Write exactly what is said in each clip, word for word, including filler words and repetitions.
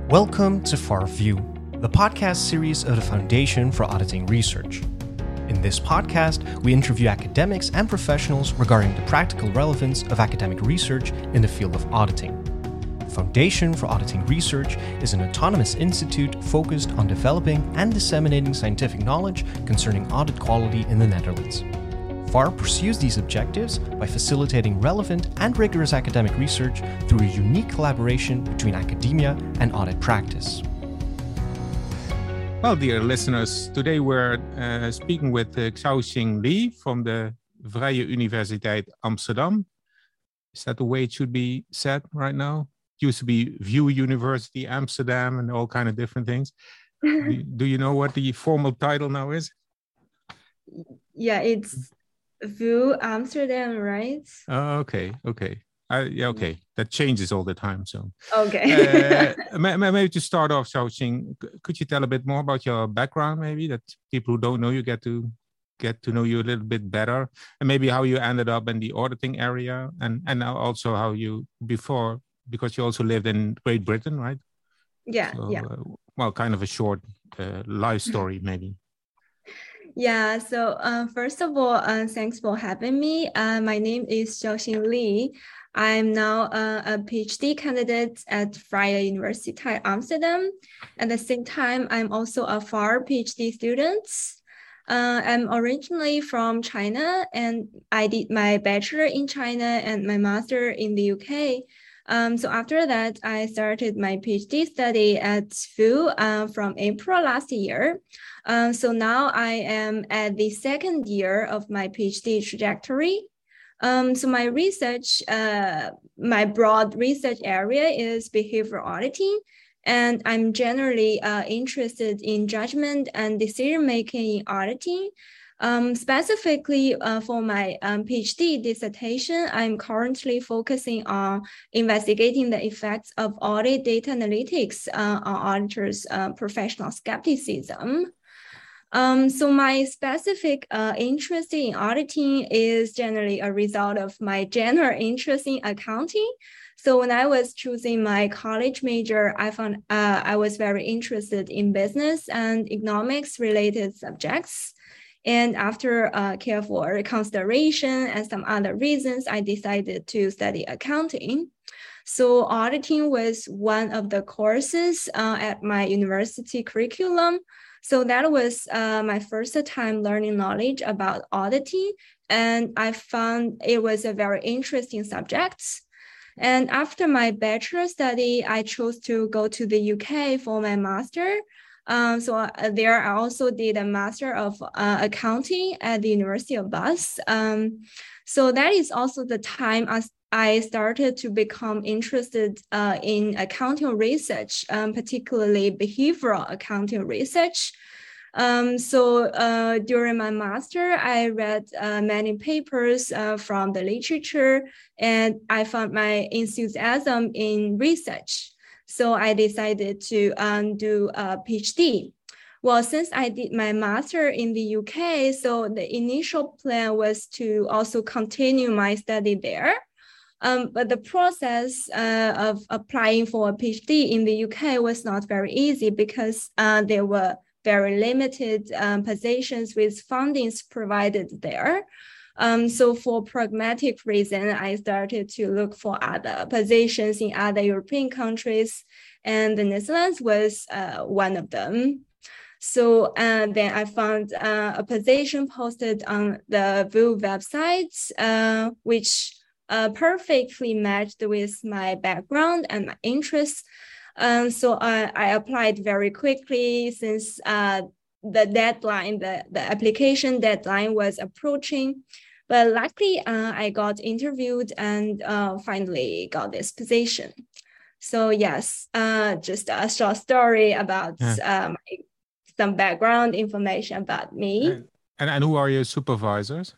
Welcome to FARview, the podcast series of the Foundation for Auditing Research. In this podcast, we interview academics and professionals regarding the practical relevance of academic research in the field of auditing. The Foundation for Auditing Research is an autonomous institute focused on developing and disseminating scientific knowledge concerning audit quality in the Netherlands. FAR pursues these objectives by facilitating relevant and rigorous academic research through a unique collaboration between academia and audit practice. Well, dear listeners, today we're uh, speaking with uh, Xiaoxing Li from the Vrije Universiteit Amsterdam. Is that the way it should be said right now? It used to be VU University Amsterdam and all kind of different things. do, do you know what the formal title now is? Yeah, it's VU Amsterdam, right? Oh, okay, okay. Uh, yeah, okay. That changes all the time. So, okay. uh, maybe to start off, Xiaoxing, could you tell a bit more about your background, maybe that people who don't know you get to get to know you a little bit better, and maybe how you ended up in the auditing area, and and also how you before, because you also lived in Great Britain, right? Yeah, so, yeah. Uh, well, kind of a short uh, life story, maybe. Yeah, so uh, first of all, uh, thanks for having me. Uh, my name is Xiaoxing Li. I'm now uh, a PhD candidate at Vrije Universiteit Amsterdam. At the same time, I'm also a FAR PhD student. Uh, I'm originally from China, and I did my bachelor in China and my master in the U K. Um, so after that, I started my PhD study at VU uh, from April last year. Uh, so now I am at the second year of my PhD trajectory. Um, so my research, uh, my broad research area is behavioral auditing, and I'm generally uh, interested in judgment and decision-making in auditing. Um, specifically uh, for my um, PhD dissertation, I'm currently focusing on investigating the effects of audit data analytics uh, on auditors' uh, professional skepticism. Um, so my specific uh, interest in auditing is generally a result of my general interest in accounting. So when I was choosing my college major, I found uh, I was very interested in business and economics related subjects. And after uh, careful consideration and some other reasons, I decided to study accounting. So auditing was one of the courses uh, at my university curriculum. So that was uh, my first time learning knowledge about auditing. And I found it was a very interesting subject. And after my bachelor study, I chose to go to the U K for my master. Um, so uh, there I also did a Master of uh, Accounting at the University of Bath. Um, so that is also the time as I started to become interested uh, in accounting research, um, particularly behavioral accounting research. Um, so uh, during my master, I read uh, many papers uh, from the literature, and I found my enthusiasm in research. So I decided to um, do a PhD. Well, since I did my master in the U K, so the initial plan was to also continue my study there. Um, but the process uh, of applying for a PhD in the U K was not very easy because uh, there were very limited um, positions with fundings provided there. Um, so for pragmatic reason, I started to look for other positions in other European countries, and the Netherlands was uh, one of them. So uh, then I found uh, a position posted on the VU website, uh, which uh, perfectly matched with my background and my interests. Um, so uh, I applied very quickly since uh, the deadline, the, the application deadline was approaching. But luckily, uh, I got interviewed and uh, finally got this position. So yes, uh, just a short story about yeah. uh, my, some background information about me. And, and, and who are your supervisors?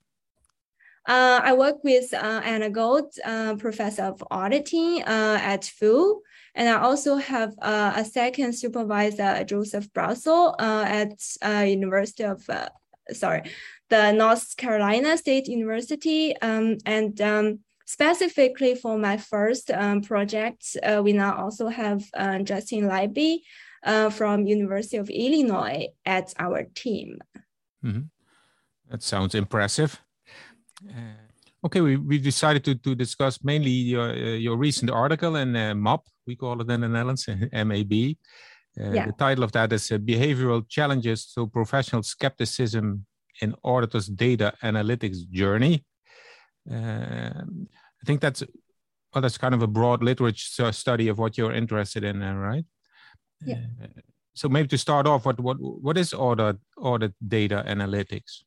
Uh, I work with uh, Anna Gold, uh, professor of auditing uh, at VU. And I also have uh, a second supervisor, Joseph Brassel, uh, at uh, University of, uh, sorry, the North Carolina State University. Um, and um, specifically for my first um, project, uh, we now also have uh, Justin Leiby uh, from University of Illinois at our team. Mm-hmm. That sounds impressive. Uh, okay, we, we decided to, to discuss mainly your, uh, your recent article in uh, M A B, we call it in the Netherlands, M A B. Uh, yeah. The title of that is uh, Behavioral Challenges to Professional Skepticism in Auditors' Data Analytics Journey. Uh, I think that's, well, that's kind of a broad literature study of what you're interested in, uh, right? Yeah. Uh, so maybe to start off, what, what, what is audit, audit data analytics?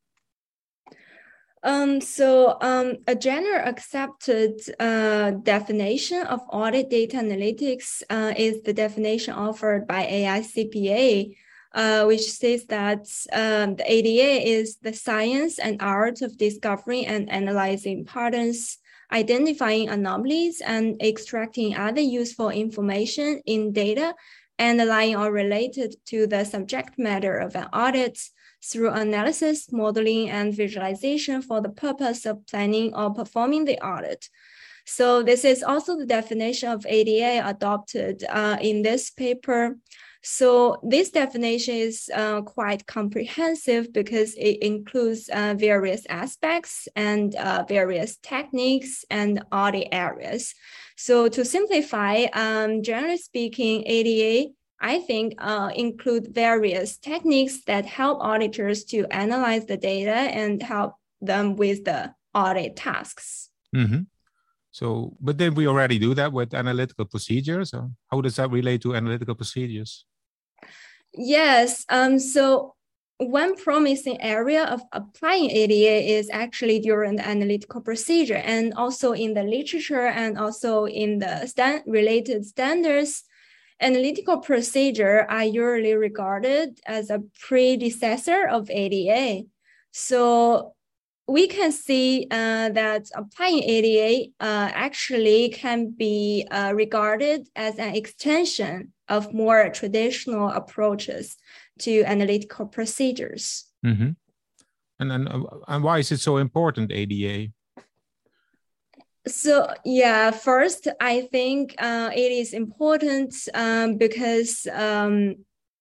Um, so um, a general accepted uh, definition of audit data analytics uh, is the definition offered by A I C P A, uh, which says that um, the A D A is the science and art of discovering and analyzing patterns, identifying anomalies, and extracting other useful information in data underlying or related to the subject matter of an audit, through analysis, modeling, and visualization for the purpose of planning or performing the audit. So this is also the definition of A D A adopted uh, in this paper. So this definition is uh, quite comprehensive because it includes uh, various aspects and uh, various techniques and audit areas. So to simplify, um, generally speaking, A D A I think uh, include various techniques that help auditors to analyze the data and help them with the audit tasks. Mm-hmm. So, but then we already do that with analytical procedures. Or how does that relate to analytical procedures? Yes. Um, so one promising area of applying A D A is actually during the analytical procedure, and also in the literature and also in the stand related standards. Analytical procedure are usually regarded as a predecessor of A D A. So we can see uh, that applying A D A uh, actually can be uh, regarded as an extension of more traditional approaches to analytical procedures. Mm-hmm. And, and, and why is it so important, A D A? So yeah, first, I think uh, it is important um, because um,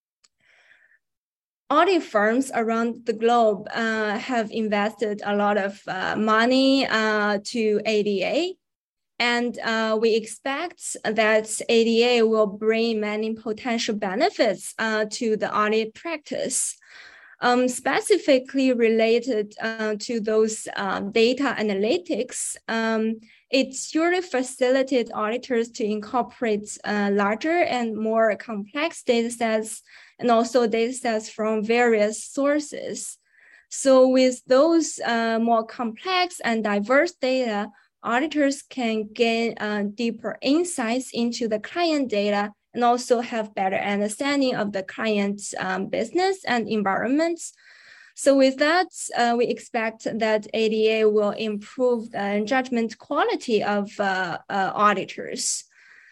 audit firms around the globe uh, have invested a lot of uh, money uh, to A D A. And uh, we expect that A D A will bring many potential benefits uh, to the audit practice. Um, specifically related uh, to those um, data analytics, um, it usually facilitates auditors to incorporate uh, larger and more complex data sets and also data sets from various sources. So with those uh, more complex and diverse data, auditors can gain uh, deeper insights into the client data and also have better understanding of the client's um, business and environments. So with that, uh, we expect that A D A will improve the judgment quality of uh, uh, auditors.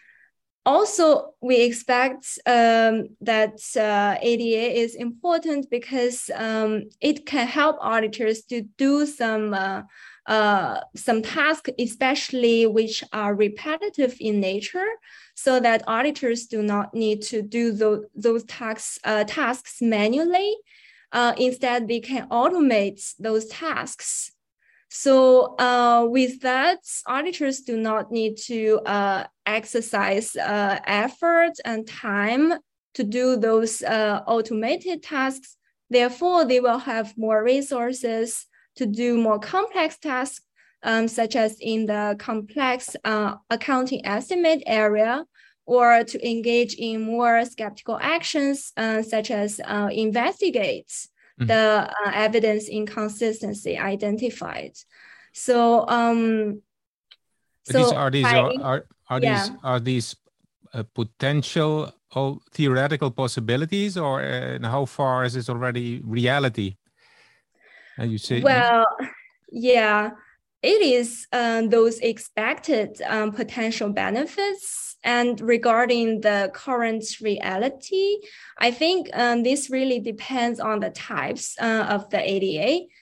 Also, we expect um, that uh, A D A is important because um, it can help auditors to do some uh, uh, some tasks, especially which are repetitive in nature, so that auditors do not need to do those, those tasks, uh, tasks manually. Uh, instead, they can automate those tasks. So uh, with that, auditors do not need to uh, exercise uh, effort and time to do those uh, automated tasks. Therefore, they will have more resources to do more complex tasks, um, such as in the complex uh, accounting estimate area, or to engage in more skeptical actions, uh, such as uh, investigate mm-hmm. the uh, evidence inconsistency identified. So, um, but so these are these by, are are, are yeah. these are these uh, potential or theoretical possibilities, or uh, how far is this already reality? And you say, well, yeah, it is um, those expected um, potential benefits. And regarding the current reality, I think um, this really depends on the types uh, of the A D A.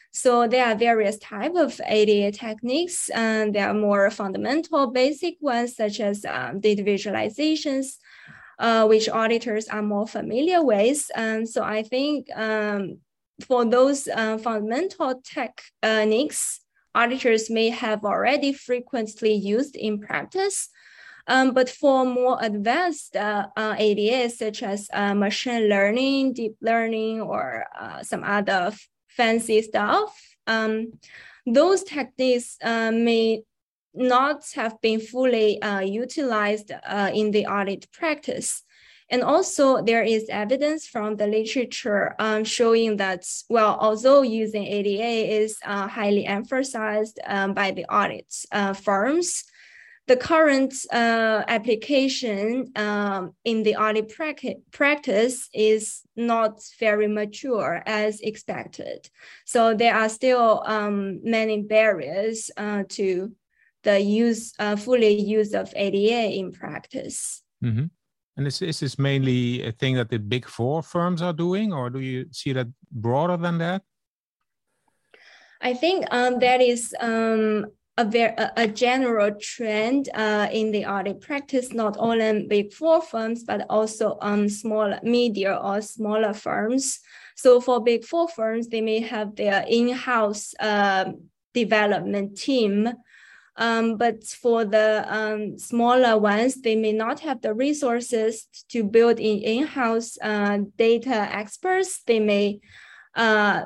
So there are various types of A D A techniques, and there are more fundamental, basic ones, such as um, data visualizations, uh, which auditors are more familiar with. And so I think um, for those uh, fundamental techniques, auditors may have already frequently used in practice. Um, but for more advanced uh, uh, A D As, such as uh, machine learning, deep learning, or uh, some other fancy stuff, um, those techniques uh, may not have been fully uh, utilized uh, in the audit practice. And also there is evidence from the literature um, showing that, well, although using A D A is uh, highly emphasized um, by the audit uh, firms, the current uh, application um, in the audit practice is not very mature as expected. So there are still um, many barriers uh, to the use, uh, fully use of A D A in practice. Mm-hmm. And is, is this mainly a thing that the big four firms are doing, or do you see that broader than that? I think um, that is um, A, very, a general trend uh, in the audit practice, not only in big four firms, but also on um, smaller, media or smaller firms. So for big four firms, they may have their in-house uh, development team. Um, but for the um, smaller ones, they may not have the resources to build in in-house uh, data experts. They may uh,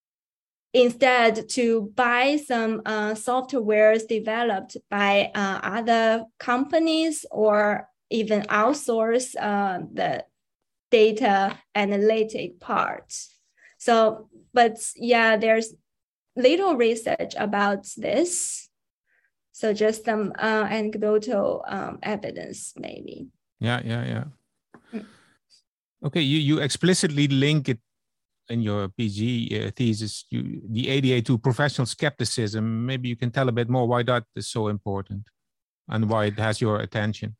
instead to buy some uh, softwares developed by uh, other companies, or even outsource uh, the data analytic part. So, but yeah, there's little research about this. So just some uh, anecdotal um, evidence, maybe. Yeah, yeah, yeah. Mm. Okay, you, you explicitly link it in your PhD uh, thesis, you, the A D A to professional skepticism. Maybe you can tell a bit more why that is so important and why it has your attention.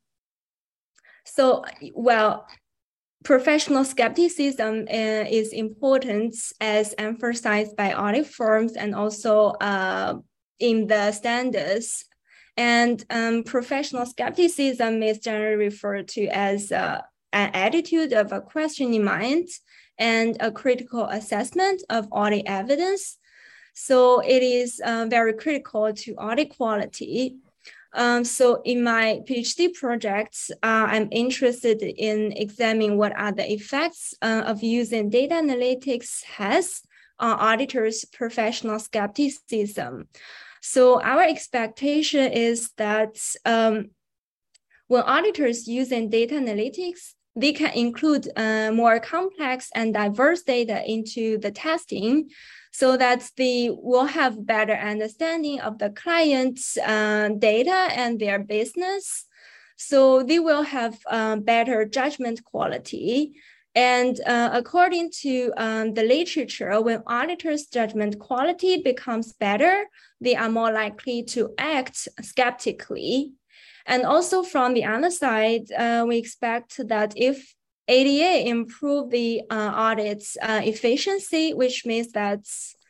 So, well, professional skepticism uh, is important as emphasized by audit firms and also uh, in the standards. And um, professional skepticism is generally referred to as uh, an attitude of a questioning mind and a critical assessment of audit evidence. So it is uh, very critical to audit quality. Um, so in my PhD projects, uh, I'm interested in examining what are the effects uh, of using data analytics has on auditors' professional skepticism. So our expectation is that um, when auditors using data analytics, they can include uh, more complex and diverse data into the testing so that they will have better understanding of the client's uh, data and their business. So they will have uh, better judgment quality. And uh, according to um, the literature, when auditors' judgment quality becomes better, they are more likely to act skeptically. And also from the other side, uh, we expect that if A D A improve the uh, audit's uh, efficiency, which means that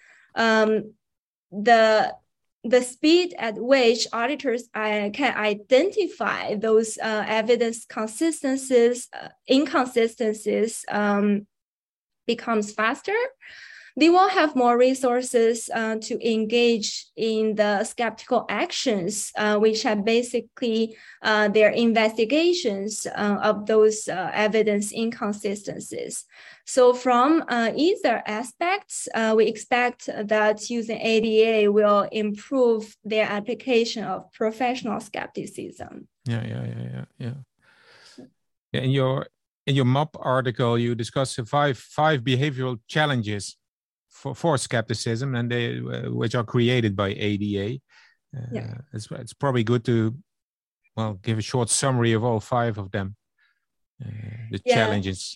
um, the the speed at which auditors uh, can identify those uh, evidence consistencies, uh, inconsistencies um, becomes faster, they will have more resources uh, to engage in the skeptical actions, uh, which are basically uh, their investigations uh, of those uh, evidence inconsistencies. So from uh, either aspects, uh, we expect that using A D A will improve their application of professional skepticism. Yeah, yeah, yeah, yeah, yeah. yeah in your in your M O P article, you discuss five five behavioral challenges for, for skepticism, and they uh, which are created by A D A. Uh, yeah. it's, it's probably good to well give a short summary of all five of them. Uh, the yeah. challenges.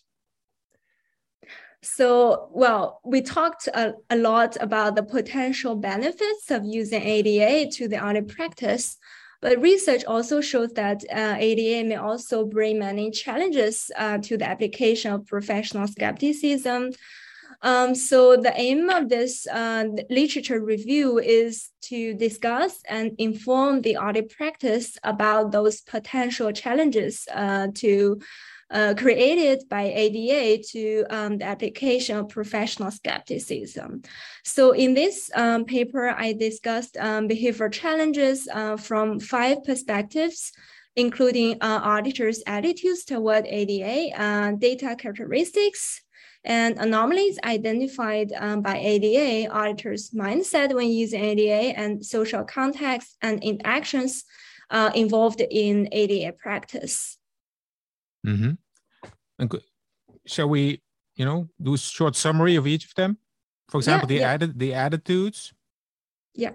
So, well, we talked a, a lot about the potential benefits of using A D A to the audit practice, but research also shows that uh, A D A may also bring many challenges uh, to the application of professional skepticism. Um, so the aim of this uh, literature review is to discuss and inform the audit practice about those potential challenges uh, to uh, created by A D A to um, the application of professional skepticism. So in this um, paper, I discussed um, behavioral challenges uh, from five perspectives, including uh, auditors' attitudes toward A D A, uh, data characteristics, and anomalies identified um, by A D A, auditors' mindset when using A D A, and social context and interactions uh, involved in A D A practice. Mm-hmm. And shall we, you know, do a short summary of each of them? For example, yeah, the, yeah. Added, the attitudes. Yeah.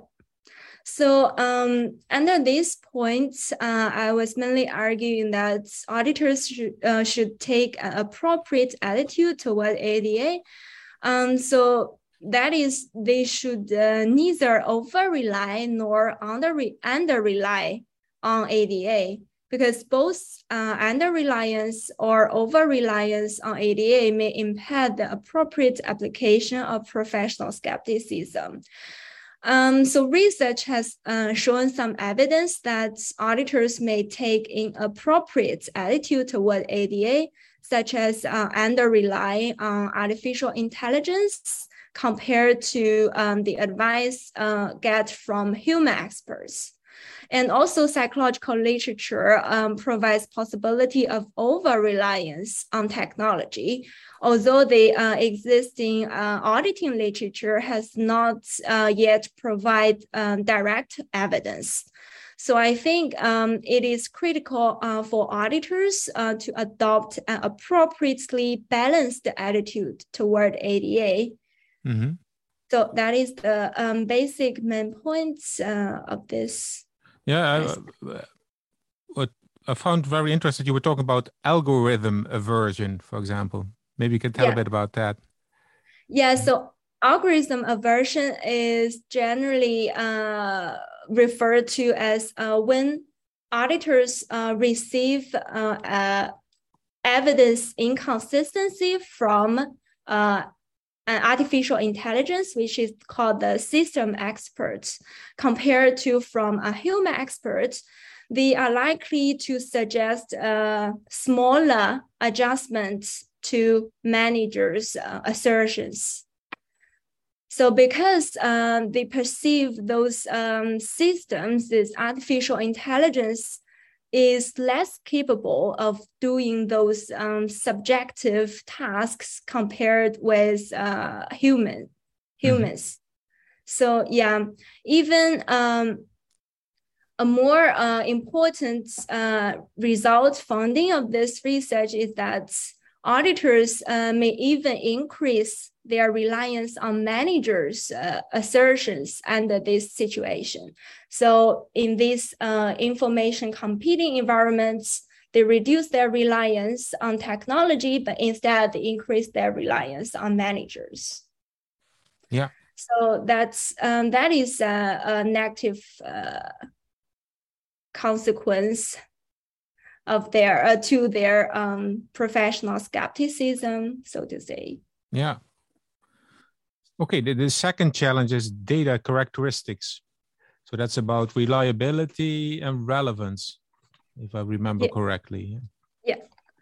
So um, under these points, uh, I was mainly arguing that auditors should, uh, should take an appropriate attitude toward A D A. Um, so that is, they should uh, neither over-rely nor under-rely under on A D A, because both uh, under-reliance or over-reliance on A D A may impair the appropriate application of professional skepticism. Um, so research has uh, shown some evidence that auditors may take inappropriate attitude toward A D A, such as uh, under-rely on artificial intelligence compared to um, the advice uh, get from human experts. And also psychological literature um, provides possibility of over-reliance on technology, although the uh, existing uh, auditing literature has not uh, yet provide um, direct evidence. So I think um, it is critical uh, for auditors uh, to adopt an appropriately balanced attitude toward A D A. Mm-hmm. So that is the um, basic main points uh, of this. Yeah, I, what I found very interesting, you were talking about algorithm aversion, for example. Maybe you can tell yeah. a bit about that. Yeah, so algorithm aversion is generally uh, referred to as uh, when auditors uh, receive uh, uh, evidence inconsistency from uh, an artificial intelligence, which is called the system experts, compared to from a human expert, they are likely to suggest uh, smaller adjustments to managers' uh, assertions. So because um, they perceive those um, systems, this artificial intelligence is less capable of doing those um, subjective tasks compared with uh, human, humans. Mm-hmm. So yeah, even um, a more uh, important uh, result finding of this research is that auditors uh, may even increase their reliance on managers' uh, assertions under this situation. So in these uh, information competing environments, they reduce their reliance on technology, but instead they increase their reliance on managers. Yeah. So that's um, that is a, a negative uh, consequence of their uh, to their um, professional skepticism, so to say. Yeah. Okay, the, the second challenge is data characteristics. So that's about reliability and relevance, if I remember yeah. correctly. Yeah.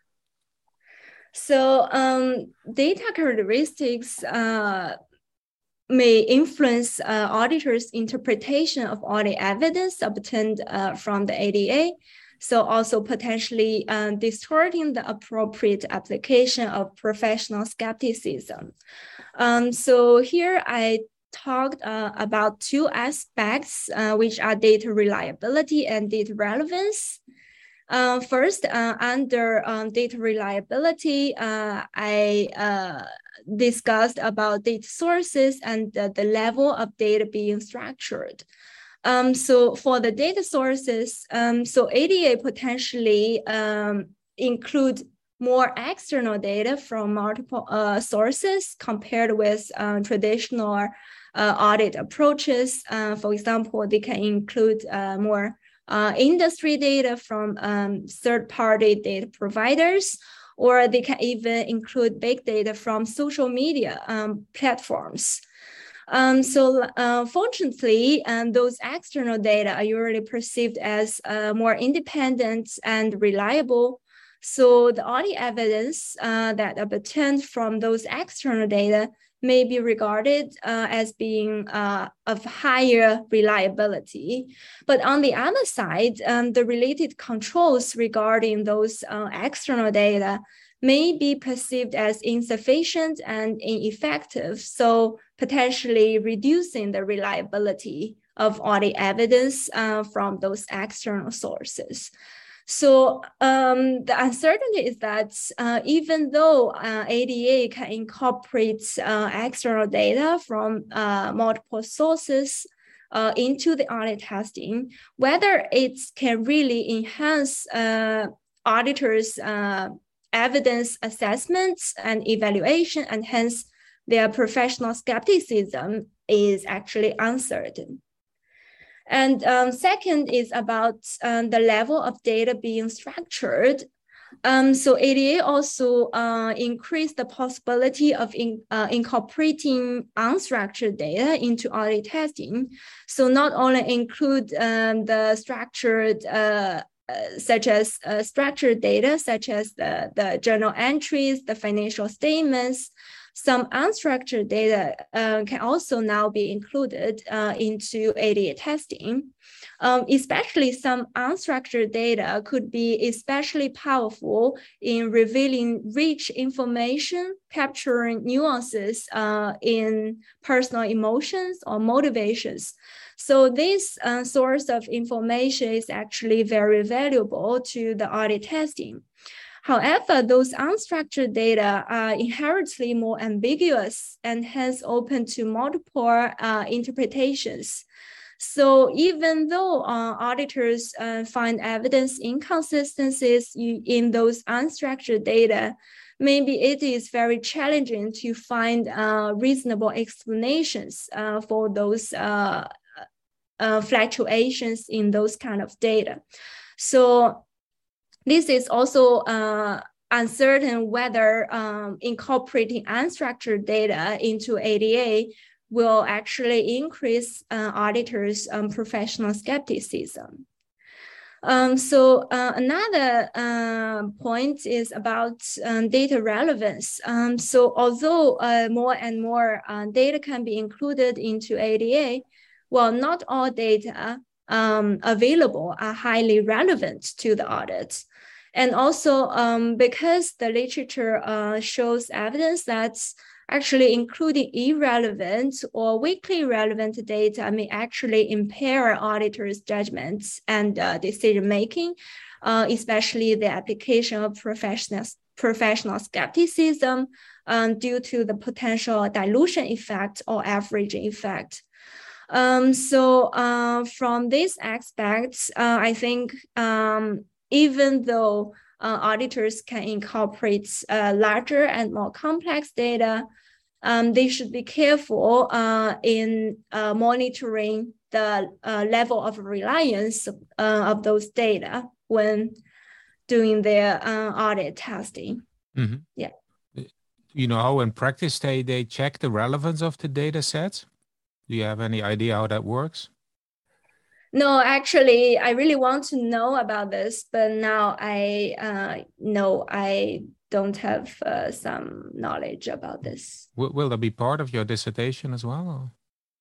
So um, data characteristics uh, may influence uh, auditors' interpretation of audit evidence obtained uh, from the A D A. So also potentially uh, distorting the appropriate application of professional skepticism. Um, so here I talked uh, about two aspects, uh, which are data reliability and data relevance. Uh, first, uh, under um, data reliability, uh, I uh, discussed about data sources and uh, the level of data being structured. Um, so for the data sources, um, so A D A potentially um, include more external data from multiple uh, sources compared with uh, traditional uh, audit approaches. Uh, for example, they can include uh, more uh, industry data from um, third-party data providers, or they can even include big data from social media um, platforms. Um, so uh, fortunately, um, those external data are usually perceived as uh, more independent and reliable. So the audit evidence uh, that obtained from those external data may be regarded uh, as being uh, of higher reliability. But on the other side, um, the related controls regarding those uh, external data may be perceived as insufficient and ineffective, so potentially reducing the reliability of audit evidence uh, from those external sources. So um, the uncertainty is that uh, even though uh, A D A can incorporate uh, external data from uh, multiple sources uh, into the audit testing, whether it can really enhance uh, auditors' uh, evidence assessments and evaluation, and hence their professional skepticism, is actually uncertain. And um, second is about um, the level of data being structured. Um, so A D A also uh, increased the possibility of in, uh, incorporating unstructured data into audit testing. So not only include um, the structured uh, Uh, such as uh, structured data, such as the, the journal entries, the financial statements. Some unstructured data uh, can also now be included uh, into A D A testing. Um, especially some unstructured data could be especially powerful in revealing rich information, capturing nuances uh, in personal emotions or motivations. So this uh, source of information is actually very valuable to the audit testing. However, those unstructured data are inherently more ambiguous and hence open to multiple uh, interpretations. So even though uh, auditors uh, find evidence inconsistencies in those unstructured data, maybe it is very challenging to find uh, reasonable explanations uh, for those uh, uh, fluctuations in those kind of data. So this is also uh, uncertain whether um, incorporating unstructured data into A D A will actually increase uh, auditors' um, professional skepticism. Um, so uh, another uh, point is about um, data relevance. Um, so although uh, more and more uh, data can be included into A D A, well, not all data um, available are highly relevant to the audit. And also um, because the literature uh, shows evidence that actually including irrelevant or weakly relevant data may actually impair auditors' judgments and uh, decision-making, uh, especially the application of professional, professional skepticism um, due to the potential dilution effect or averaging effect. Um, so uh, from this aspect, uh, I think um, even though uh, auditors can incorporate uh, larger and more complex data, um, they should be careful uh, in uh, monitoring the uh, level of reliance uh, of those data when doing their uh, audit testing. Mm-hmm. Yeah. You know how in practice they, they check the relevance of the data sets? Do you have any idea how that works? No, actually, I really want to know about this, but now I uh, know I don't have uh, some knowledge about this. Will, will that be part of your dissertation as well?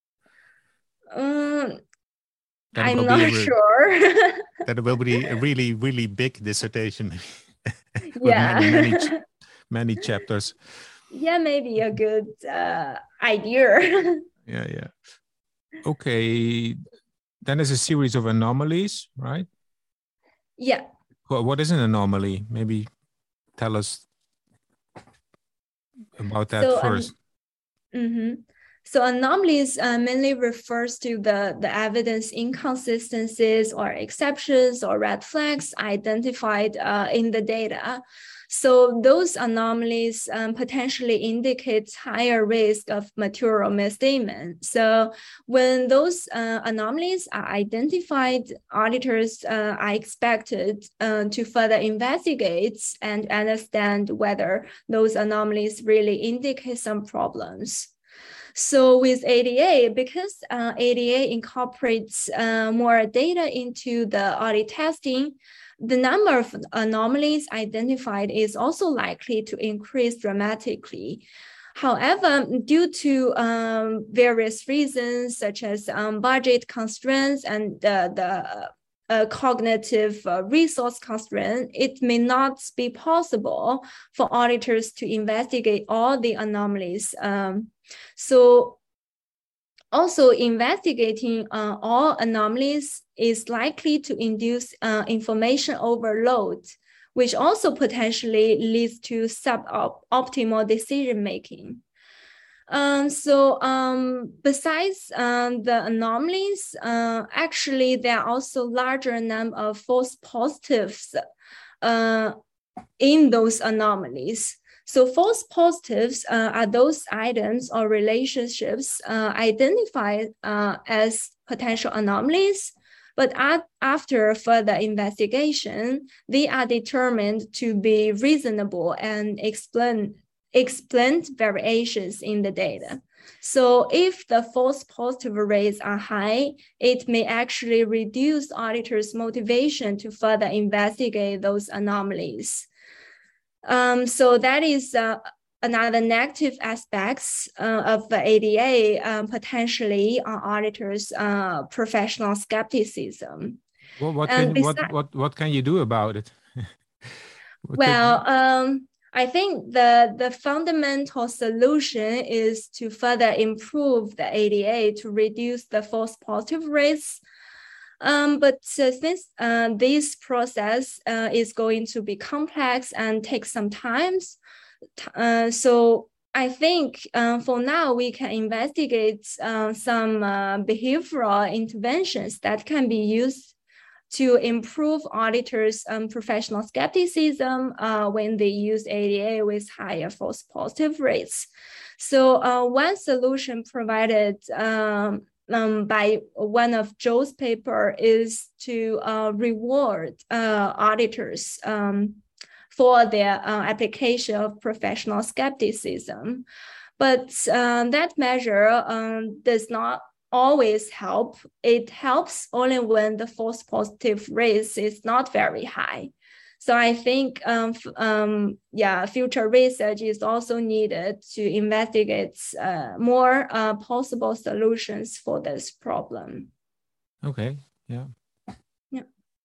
Um, I'm not re- sure. That will be a really, really big dissertation. With yeah. many, many, ch- many chapters. Yeah, maybe a good uh, idea. yeah, yeah. Okay. Then there's a series of anomalies, right? Yeah. Well, what is an anomaly? Maybe tell us about that so, first. Um, mm-hmm. So anomalies uh, mainly refers to the, the evidence inconsistencies or exceptions or red flags identified uh, in the data. So those anomalies um, potentially indicate higher risk of material misstatement. So when those uh, anomalies are identified, auditors uh, are expected uh, to further investigate and understand whether those anomalies really indicate some problems. So with A D A, because uh, A D A incorporates uh, more data into the audit testing, the number of anomalies identified is also likely to increase dramatically. However, due to um, various reasons, such as um, budget constraints and uh, the uh, cognitive uh, resource constraint, it may not be possible for auditors to investigate all the anomalies. Um, so also, investigating uh, all anomalies is likely to induce uh, information overload, which also potentially leads to suboptimal decision-making. Um, so um, besides um, the anomalies, uh, actually, there are also larger number of false positives uh, in those anomalies. So false positives uh, are those items or relationships uh, identified uh, as potential anomalies, but at, after further investigation, they are determined to be reasonable and explain, explain variations in the data. So if the false positive rates are high, it may actually reduce auditors' motivation to further investigate those anomalies. Um, so that is uh, another negative aspects uh, of the A D A, um, potentially on auditors' uh, professional skepticism. Well, what can besides, what what what can you do about it? well, um, I think the the fundamental solution is to further improve the A D A to reduce the false positive rates. Um, but uh, since uh, this process uh, is going to be complex and take some time, uh, so I think uh, for now we can investigate uh, some uh, behavioral interventions that can be used to improve auditors' um, professional skepticism uh, when they use A D A with higher false positive rates. So uh, one solution provided um, Um, by one of Joe's paper is to uh, reward uh, auditors um, for their uh, application of professional skepticism. But um, that measure um, does not always help. It helps only when the false positive rate is not very high. So I think, um, um, yeah, future research is also needed to investigate uh, more uh, possible solutions for this problem. Okay, yeah. Yeah.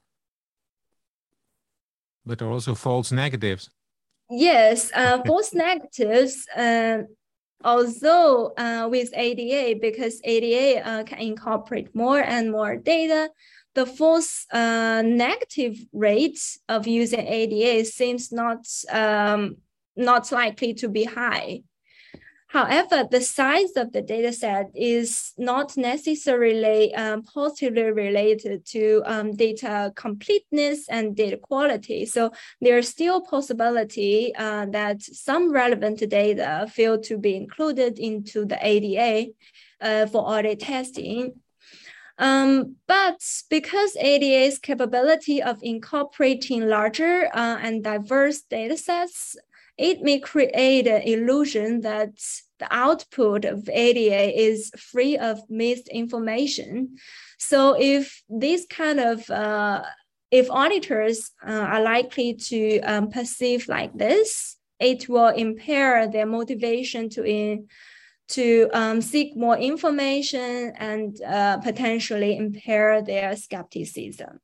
But there are also false negatives. Yes, uh, false negatives, uh, although uh, with A D A, because A D A uh, can incorporate more and more data, the false uh, negative rate of using A D A seems not, um, not likely to be high. However, the size of the data set is not necessarily um, positively related to um, data completeness and data quality. So there's still possibility uh, that some relevant data fail to be included into the A D A uh, for audit testing. Um, but because A D A's capability of incorporating larger uh, and diverse data sets, it may create an illusion that the output of A D A is free of misinformation. So if this kind of, uh, if auditors uh, are likely to um, perceive like this, it will impair their motivation to in, to um, seek more information and uh, potentially impair their skepticism.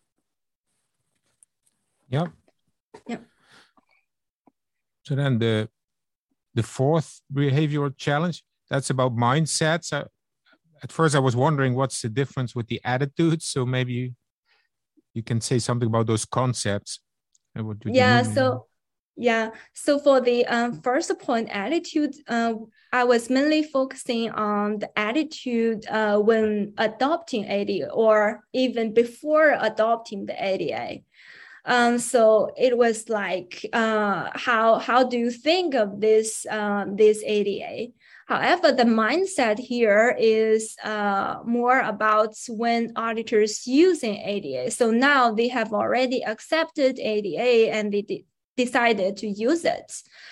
Yeah. Yeah. So then the the fourth behavioral challenge, that's about mindsets. Uh, at first I was wondering what's the difference with the attitudes. So maybe you, you can say something about those concepts. And what do yeah, you mean? so Yeah. So for the um, first point, attitude, uh, I was mainly focusing on the attitude uh, when adopting A D A or even before adopting the A D A. Um, so it was like, uh, how how do you think of this um, this A D A? However, the mindset here is uh, more about when auditors using A D A. So now they have already accepted A D A and they de- decided to use it.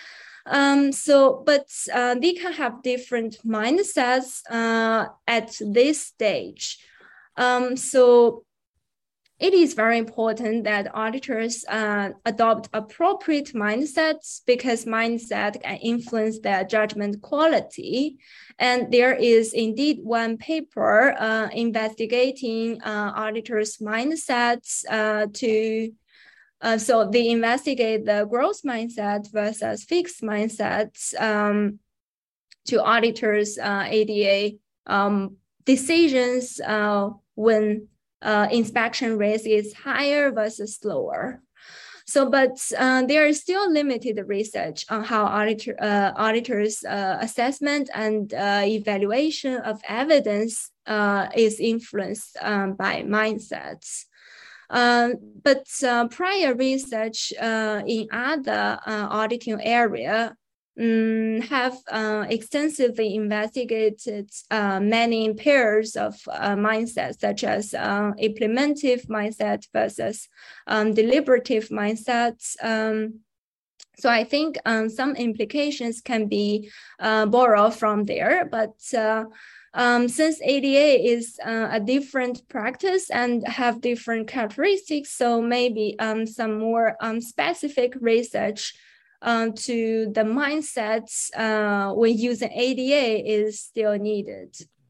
Um, so, but uh, they can have different mindsets uh, at this stage. Um, so it is very important that auditors uh, adopt appropriate mindsets because mindset can influence their judgment quality. And there is indeed one paper uh, investigating uh, auditors' mindsets uh, to, uh, so they investigate the growth mindset versus fixed mindsets um, to auditors' uh, A D A um, decisions uh, when Uh, inspection risk is higher versus lower. So, but uh, there is still limited research on how auditor, uh, auditors' uh, assessment and uh, evaluation of evidence uh, is influenced um, by mindsets. Uh, but uh, prior research uh, in other uh, auditing area Um, have uh, extensively investigated uh, many pairs of uh, mindsets, such as uh, implementive mindset versus um, deliberative mindsets. Um, so I think um, some implications can be uh, borrowed from there, but uh, um, since A D A is uh, a different practice and have different characteristics, so maybe um, some more um, specific research Uh, to the mindsets uh, when using A D A is still needed.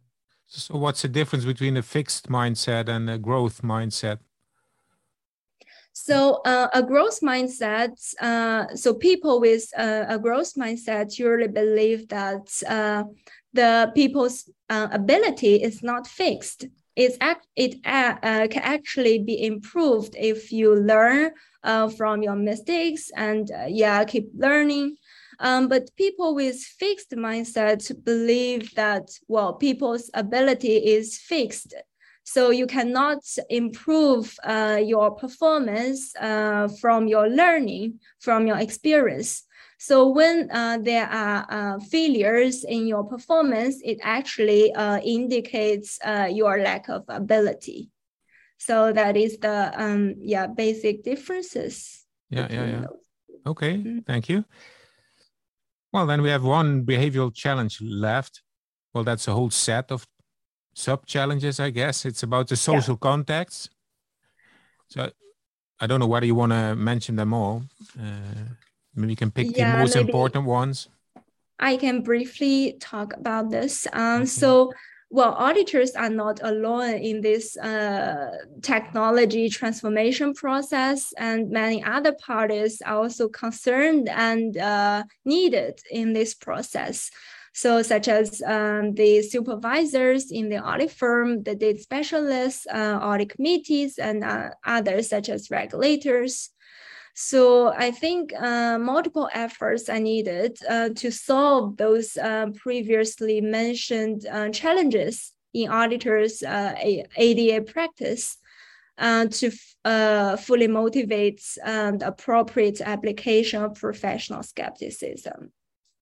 So what's the difference between a fixed mindset and a growth mindset? So uh, a growth mindset, uh, so people with uh, a growth mindset usually believe that uh, the people's uh, ability is not fixed. It's act, it uh, uh, can actually be improved if you learn uh, from your mistakes and uh, yeah, keep learning. Um, but people with fixed mindset believe that, well, people's ability is fixed. So you cannot improve uh, your performance uh, from your learning, from your experience. So when uh, there are uh, failures in your performance, it actually uh, indicates uh, your lack of ability. So that is the um, yeah basic differences. Yeah, yeah, yeah. Those. Okay, mm-hmm. Thank you. Well, then we have one behavioral challenge left. Well, that's a whole set of sub-challenges, I guess. It's about the social yeah. context. So I don't know whether you want to mention them all. Uh, maybe you can pick yeah, the most important ones. I can briefly talk about this. Um, okay. So, well, auditors are not alone in this uh, technology transformation process, and many other parties are also concerned and uh, needed in this process. So such as um, the supervisors in the audit firm, the data specialists, uh, audit committees, and uh, others such as regulators. So I think uh, multiple efforts are needed uh, to solve those uh, previously mentioned uh, challenges in auditors' uh, A D A practice uh, to uh, fully motivate um, the appropriate application of professional skepticism.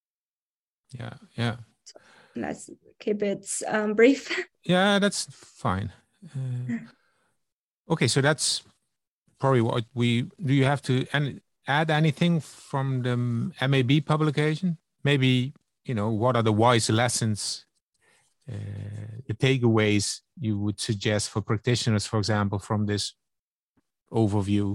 Yeah, yeah. Let's keep it um, brief. Yeah, that's fine. Uh, okay, so that's probably what we do. You have to and add anything from the M A B publication? Maybe, you know, what are the wise lessons, uh, the takeaways you would suggest for practitioners, for example, from this overview?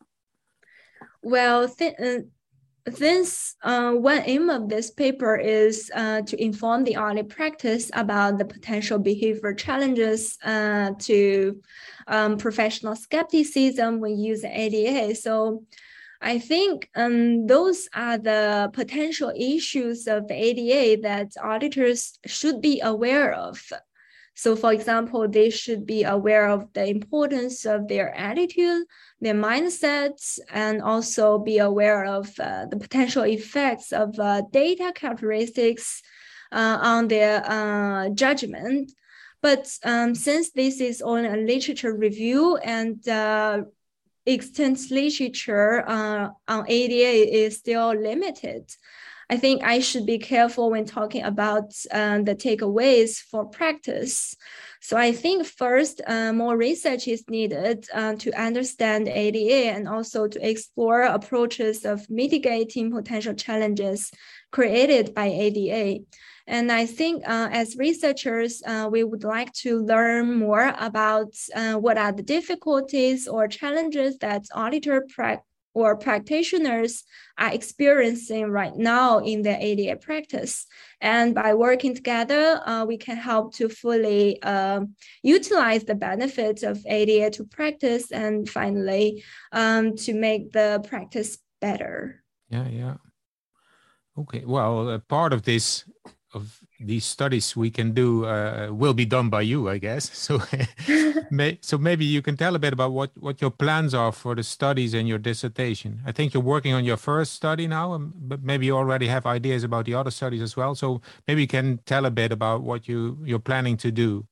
Well, th- uh, This uh, one aim of this paper is uh, to inform the audit practice about the potential behavior challenges uh, to um, professional skepticism when using A D A. So I think um, those are the potential issues of the A D A that auditors should be aware of. So for example, they should be aware of the importance of their attitude, their mindsets, and also be aware of uh, the potential effects of uh, data characteristics uh, on their uh, judgment. But um, since this is on a literature review and uh, extant literature uh, on A D A is still limited, I think I should be careful when talking about uh, the takeaways for practice. So I think first, uh, more research is needed uh, to understand A D A and also to explore approaches of mitigating potential challenges created by A D A. And I think uh, as researchers, uh, we would like to learn more about uh, what are the difficulties or challenges that auditor pra- or practitioners are experiencing right now in their A D A practice. And by working together, uh, we can help to fully uh, utilize the benefits of A D A to practice and finally um, to make the practice better. Yeah, yeah. Okay, well, uh, part of this of these studies we can do uh, will be done by you, I guess. So, may, so maybe you can tell a bit about what, what your plans are for the studies and your dissertation. I think you're working on your first study now, um, but maybe you already have ideas about the other studies as well. So maybe you can tell a bit about what you, you're planning to do.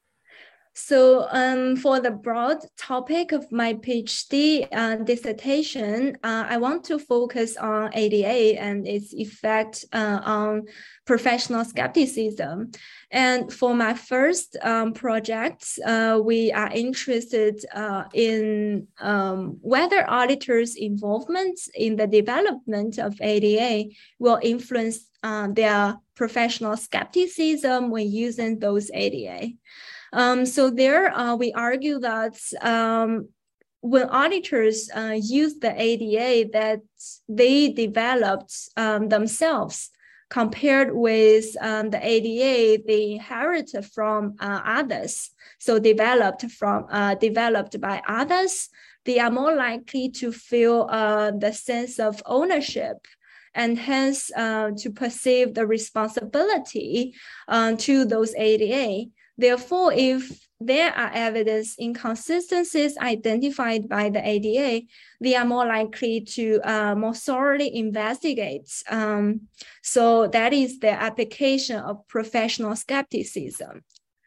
So um, for the broad topic of my PhD uh, dissertation, uh, I want to focus on A D A and its effect uh, on professional skepticism. And for my first um, project, uh, we are interested uh, in um, whether auditors' involvement in the development of A D A will influence uh, their professional skepticism when using those A D A. Um, so there uh, we argue that um, when auditors uh, use the A D A that they developed um, themselves compared with um, the A D A they inherited from uh, others, so developed from uh, developed by others, they are more likely to feel uh, the sense of ownership and hence uh, to perceive the responsibility uh, to those A D A. Therefore, if there are evidence inconsistencies identified by the A D A, they are more likely to uh, more thoroughly investigate. Um, so that is the application of professional skepticism.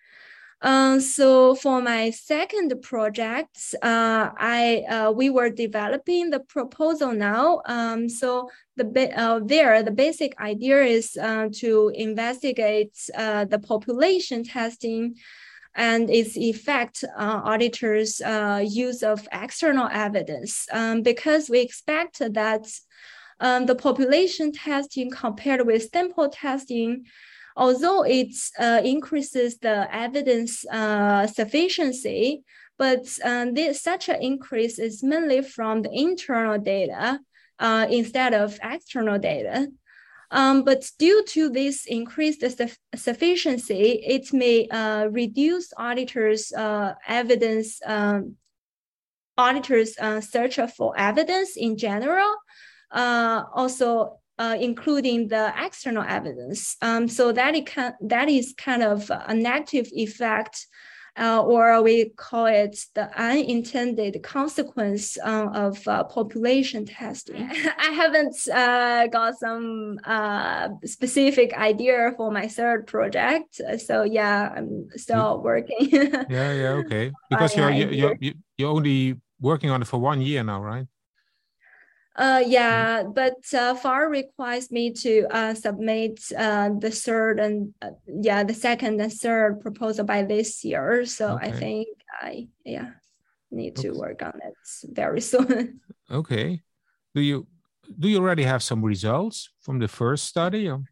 Uh, so for my second project, uh, I uh, we were developing the proposal now. Um, so the uh, there the basic idea is uh, to investigate uh, the population testing and its effect on auditors' uh, use of external evidence, um, because we expect that um, the population testing compared with sample testing, although it uh, increases the evidence uh, sufficiency, but uh, this, such an increase is mainly from the internal data uh, instead of external data. Um, but due to this increased su sufficiency, it may uh, reduce auditors' uh, evidence, um, auditors' uh, search for evidence in general, uh, also Uh, including the external evidence. Um, so that, it can, that is kind of a negative effect, uh, or we call it the unintended consequence uh, of uh, population testing. I haven't uh, got some uh, specific idea for my third project. So yeah, I'm still working. yeah, yeah, okay. Because you're, you're, you're, you're only working on it for one year now, right? Uh, yeah, but uh, F A R requires me to uh, submit uh, the third and uh, yeah, the second and third proposal by this year. So okay. I think I yeah need to okay. work on it very soon. Okay. Do you do you already have some results from the first study? Or?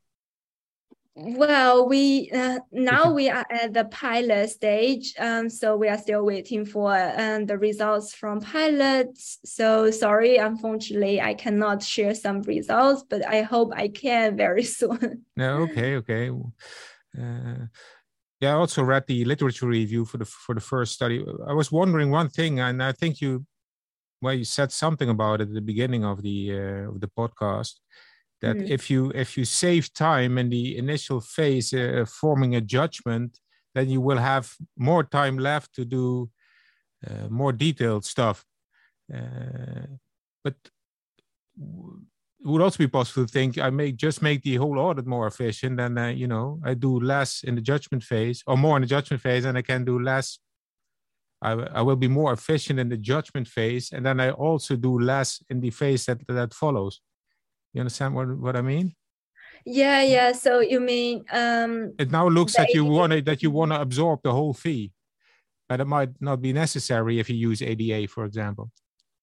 Well, we uh, now we are at the pilot stage, um, so we are still waiting for um, the results from pilots. So sorry, unfortunately, I cannot share some results, but I hope I can very soon. No, okay, okay. Uh, yeah, I also read the literature review for the for the first study. I was wondering one thing, and I think you, well, you said something about it at the beginning of the uh, of the podcast. That mm. if you if you save time in the initial phase uh, forming a judgment, then you will have more time left to do uh, more detailed stuff. Uh, but it would also be possible to think I may just make the whole audit more efficient, and uh, you know, I do less in the judgment phase, or more in the judgment phase, and I can do less. I, I will be more efficient in the judgment phase, and then I also do less in the phase that that follows. You understand what, what I mean? Yeah, yeah. So you mean um, it now looks that you want to that you want to absorb the whole fee, but it might not be necessary if you use A D A, for example.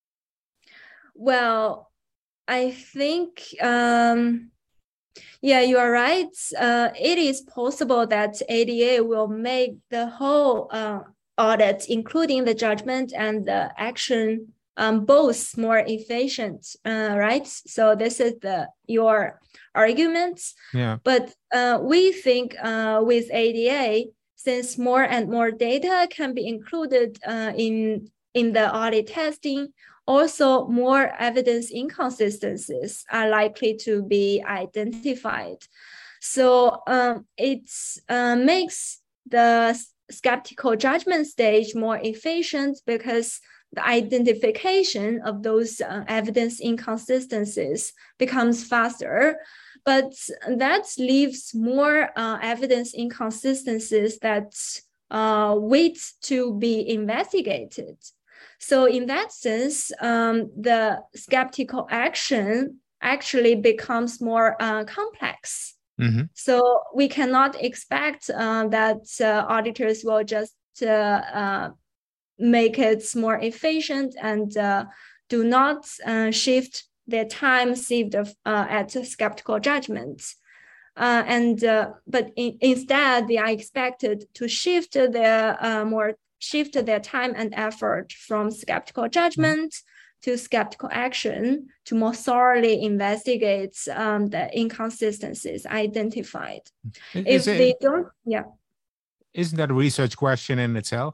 Well, I think, um, yeah, you are right. Uh, it is possible that A D A will make the whole uh, audit, including the judgment and the action, um, both more efficient, uh, right? So this is the your argument. Yeah. But uh, we think uh, with A D A, since more and more data can be included uh, in in the audit testing, also more evidence inconsistencies are likely to be identified. So um, it uh, makes the skeptical judgment stage more efficient because the identification of those uh, evidence inconsistencies becomes faster. But that leaves more uh, evidence inconsistencies that uh, wait to be investigated. So in that sense, um, the skeptical action actually becomes more uh, complex. Mm-hmm. So we cannot expect uh, that uh, auditors will just uh, uh, make it more efficient and uh, do not uh, shift their time saved uh, at skeptical judgment. Uh, and uh, but in, instead, they are expected to shift their uh, more shift their time and effort from skeptical judgment to skeptical action to more thoroughly investigate um, the inconsistencies identified. Is if it, they don't, yeah. Isn't that a research question in itself?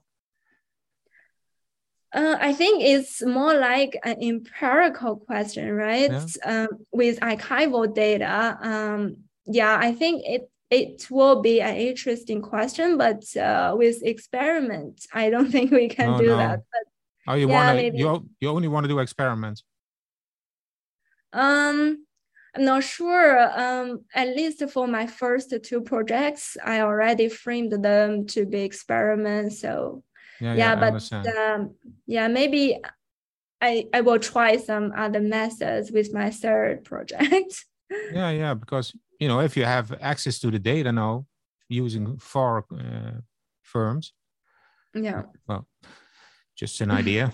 Uh, I think it's more like an empirical question, right? Yeah. Um, with archival data, um, yeah, I think it It will be an interesting question, but uh, with experiments, I don't think we can no, do no. that. But oh, you yeah, want maybe. you you only want to do experiments? Um, I'm not sure. Um, at least for my first two projects, I already framed them to be experiments. So yeah, yeah, yeah but um, yeah, maybe I I will try some other methods with my third project. yeah, yeah, because you know, if you have access to the data now using four uh, firms, yeah, well, just an idea.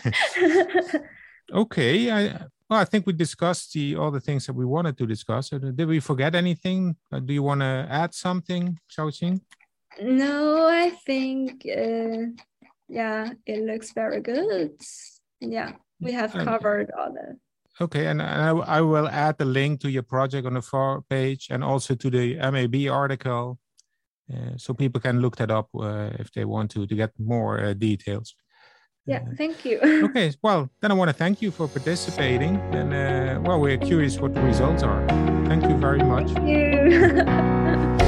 Okay, I well, I think we discussed the all the things that we wanted to discuss. Did we forget anything? Uh, do you want to add something, Xiaoqing? No, I think uh, yeah, it looks very good. Yeah, we have um, covered all the. Okay, and I, I will add the link to your project on the far page and also to the M A B article, uh, so people can look that up uh, if they want to to get more uh, details. Yeah, uh, thank you. Okay, well, then I want to thank you for participating, and uh, well, we're curious what the results are. Thank you very much. Thank you.